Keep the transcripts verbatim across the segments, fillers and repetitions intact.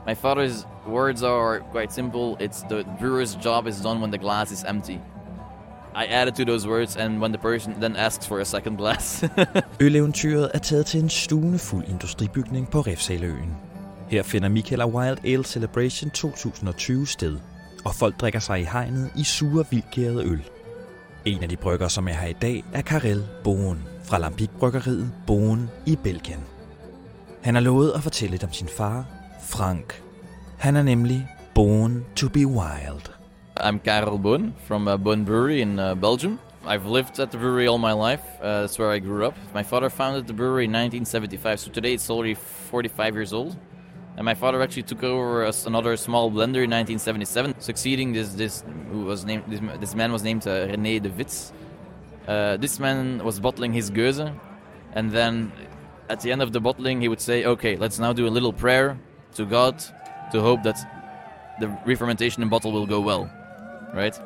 My father's words are quite simple. It's the brewer's job is done when the glass is empty. I added to those words, and when the person then asks for a second glass. Øleventyret er taget til en stuende industribygning på Refshaleøen. Her finder Michael og Wild Ale Celebration to tusind og tyve sted, og folk drikker sig i hegnet i sure, vildgærede øl. En af de brygger, som er her i dag, er Karel Boen fra Lambic-bryggeriet Boen i Belgien. Han har lovet at fortælle lidt om sin far, Frank. Han er nemlig born to be wild. I'm Karel Boen from uh, Boen Brewery in uh, Belgium. I've lived at the brewery all my life. Uh, that's where I grew up. My father founded the brewery in nineteen seventy-five, so today it's already forty-five years old. And my father actually took over as another small blender in nineteen seventy-seven, succeeding this this who was named this, this man was named uh, René de Wits. Uh, this man was bottling his Geuze, and then at the end of the bottling, he would say, "Okay, let's now do a little prayer to God to hope that the re-fermentation in bottle will go well." Right?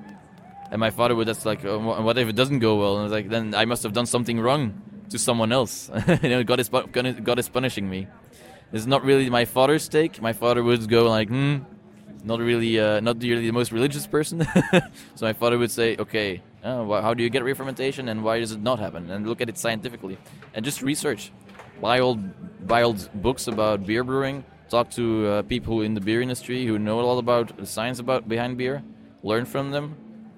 And my father would, that's like, uh, what if it doesn't go well? And I was like, then I must have done something wrong to someone else. You know, God is, God is punishing me. It's not really my father's take. My father would go like, hmm, not really, uh, not really the most religious person. So my father would say, okay, uh, how do you get re-fermentation and why does it not happen? And look at it scientifically. And just research. Buy old, buy old books about beer brewing. Talk to uh, people in the beer industry who know a lot about the science about behind beer. Learn from them.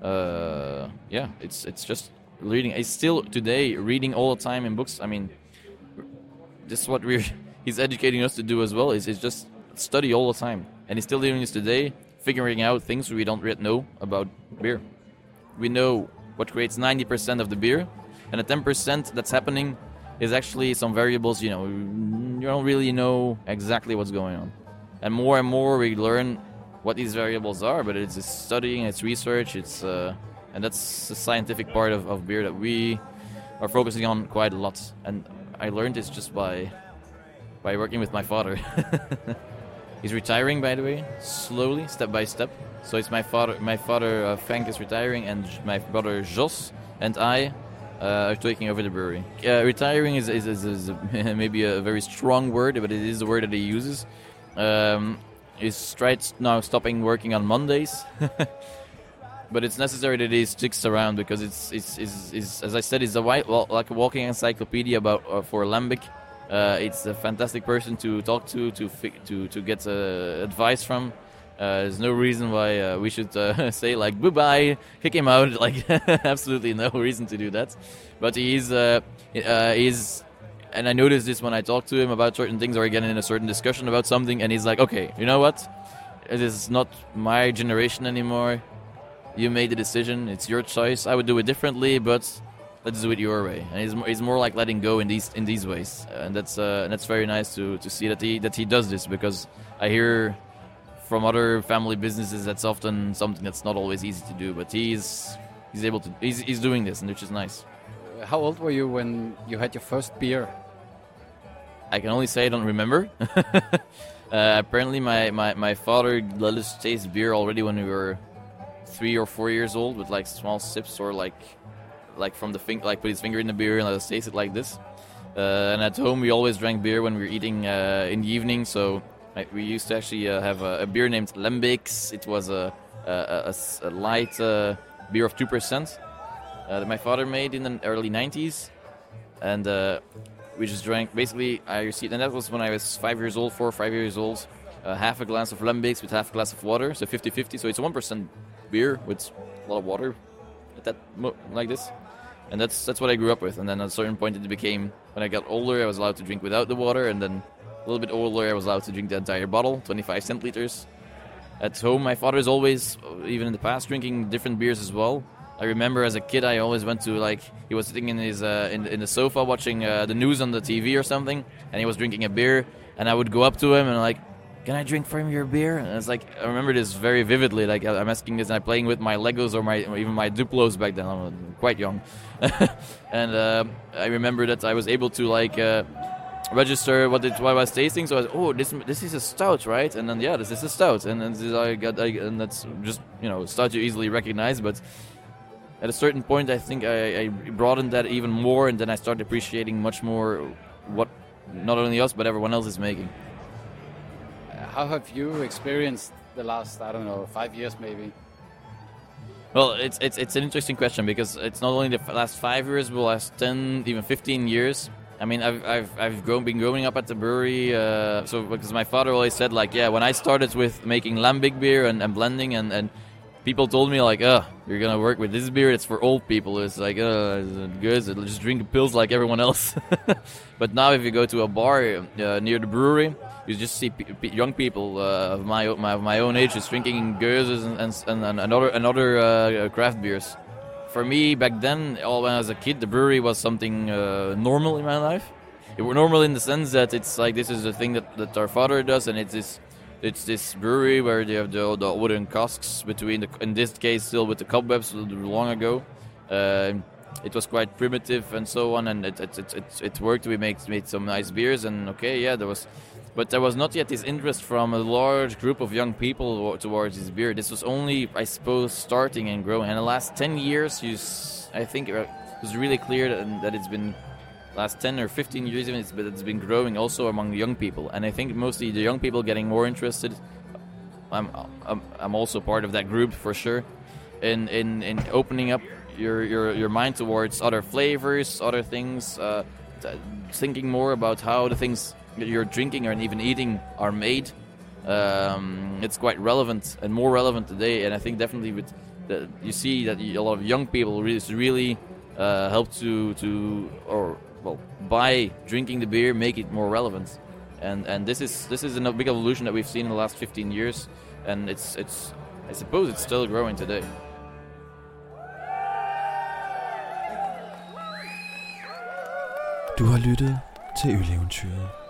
Uh, yeah, it's it's just reading. It's still today reading all the time in books. I mean, this is what we're he's educating us to do as well. Is is just study all the time, and he's still doing this today, figuring out things we don't yet know about beer. We know what creates ninety percent of the beer, and the ten percent that's happening is actually some variables. You know, you don't really know exactly what's going on, and more and more we learn what these variables are, but it's, it's studying, it's research, it's uh, and that's the scientific part of, of beer that we are focusing on quite a lot. And I learned this just by by working with my father. He's retiring, by the way, slowly, step by step. So it's my father, my father uh, Frank is retiring, and my brother Jos and I uh, are taking over the brewery. Uh, retiring is is, is, is maybe a very strong word, but it is the word that he uses. Um, He's tried now stopping working on Mondays, but it's necessary that he sticks around because it's it's, it's, it's as I said, it's a white, well, like a walking encyclopedia about uh, for Lambic. Uh, it's a fantastic person to talk to, to to to get uh, advice from. Uh, there's no reason why uh, we should uh, say like goodbye, kick him out. Like absolutely no reason to do that. But he's uh, uh, he's. And I noticed this when I talk to him about certain things or again in a certain discussion about something, and he's like, okay, you know what? It is not my generation anymore. You made the decision. It's your choice. I would do it differently, but let's do it your way. And he's, he's more like letting go in these in these ways. And that's uh, and that's very nice to, to see that he that he does this, because I hear from other family businesses that's often something that's not always easy to do, but he's he's able to he's, he's doing this, and which is nice. How old were you when you had your first beer? I can only say I don't remember. uh, apparently, my, my, my father let us taste beer already when we were three or four years old, with like small sips or like like from the finger, like put his finger in the beer and let us taste it like this. Uh, and at home, we always drank beer when we were eating uh, in the evening. So I, we used to actually uh, have a, a beer named Lambics. It was a a, a, a light uh, beer of two percent. Uh, that my father made in the early nineties, and uh, we just drank, basically, I received, and that was when I was five years old, four or five years old, uh, half a glass of Lambics with half a glass of water, so fifty-fifty, so it's a one percent beer with a lot of water, at that mo- like this, and that's that's what I grew up with. And then at a certain point it became, when I got older, I was allowed to drink without the water, and then a little bit older, I was allowed to drink the entire bottle, twenty-five centiliters. At home, my father is always, even in the past, drinking different beers as well. I remember as a kid, I always went to, like, he was sitting in his uh, in, in the sofa watching uh, the news on the T V or something, and he was drinking a beer, and I would go up to him and like, can I drink from your beer? And it's like, I remember this very vividly. Like, I'm asking this, and I'm playing with my Legos or my or even my Duplos back then. I was quite young, and uh, I remember that I was able to like uh, register what it what I was tasting. So I was, oh, this this is a stout, right? And then yeah, this is a stout, and then this I got, I, and that's just, you know, stout you easily recognize, but at a certain point, I think I, I broadened that even more, and then I started appreciating much more what not only us but everyone else is making. how have you experienced the last, I don't know, five years maybe? Well, it's it's it's an interesting question because it's not only the f- last five years, but last ten, even fifteen years. I mean, I've I've I've grown, been growing up at the brewery. Uh, so because my father always said, like, yeah, when I started with making lambic beer and, and blending, and, and people told me like, oh, you're gonna work with this beer. It's for old people. It's like, uh, good. Just drink pills like everyone else. But now, if you go to a bar uh, near the brewery, you just see p- p- young people uh, of my, my my own age just drinking Geuses and and, and, and other and other uh, craft beers. For me, back then, all when I was a kid, the brewery was something uh, normal in my life. It was normal in the sense that it's like this is a thing that, that our father does, and it's this it's this brewery where they have the, the wooden casks between the, in this case, still with the cobwebs long ago. Uh, it was quite primitive and so on, and it it it it, it worked. We made made some nice beers, and okay, yeah, there was. But there was not yet this interest from a large group of young people towards this beer. This was only, I suppose, starting and growing. And the last ten years, you s- I think it was really clear that, that it's been, last ten or fifteen years even, it's been, it's been growing also among young people. And I think mostly the young people getting more interested. I'm I'm, I'm also part of that group for sure. In in, in opening up your, your, your mind towards other flavors, other things, uh, t- thinking more about how the things you're drinking and even eating are made. Um, it's quite relevant and more relevant today, and I think definitely with the, you see that a lot of young people really really uh, help to to or well by drinking the beer make it more relevant, and and this is this is a big evolution that we've seen in the last fifteen years, and it's it's I suppose it's still growing today. Du har lyttet til Øleventyret.